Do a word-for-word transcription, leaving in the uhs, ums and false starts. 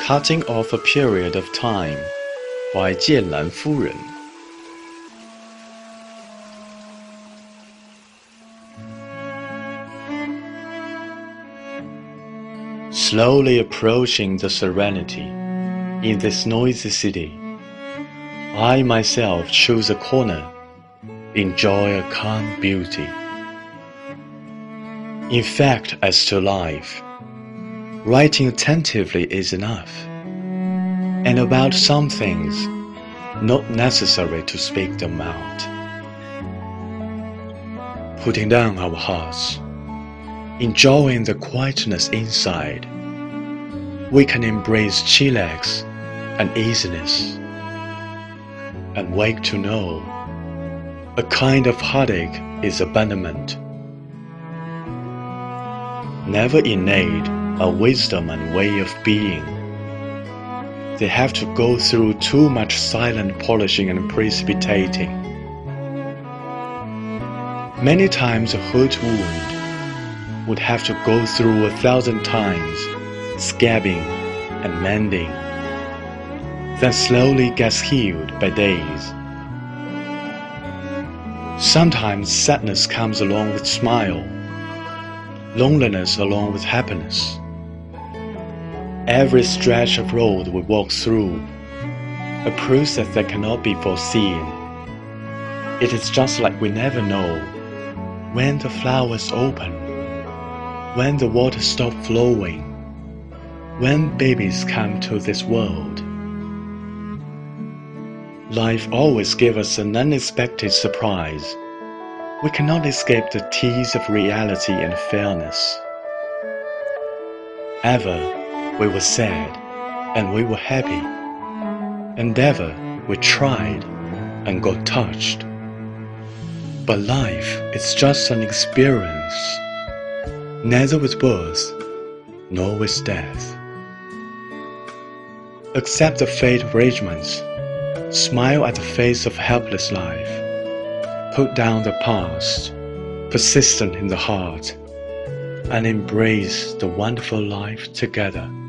Cutting Off a Period of Time by 剑兰夫人 Slowly approaching the serenity in this noisy city, I myself choose a corner, enjoy a calm beauty. In fact, as to life, writing attentively is enough, and about some things, not necessary to speak them out. Putting down our hearts, enjoying the quietness inside, we can embrace chillax and easiness, and wake to know a kind of heartache is abandonment. Never innate a wisdom and way of being. They have to go through too much silent polishing and precipitating. Many times a hurt wound would have to go through a thousand times scabbing and mending, then slowly gets healed by days. Sometimes sadness comes along with smile, loneliness along with happiness. Every stretch of road we walk through, a process that cannot be foreseen. It is just like we never know when the flowers open, when the water stops flowing, when babies come to this world. Life always gives us an unexpected surprise. We cannot escape the tease of reality and fairness. Ever we were sad and we were happy, and ever we tried and got touched. But life is just an experience, neither with birth nor with death. Accept the fate of arrangements, smile at the face of helpless life, put down the past, persistent in the heart, and embrace the wonderful life together.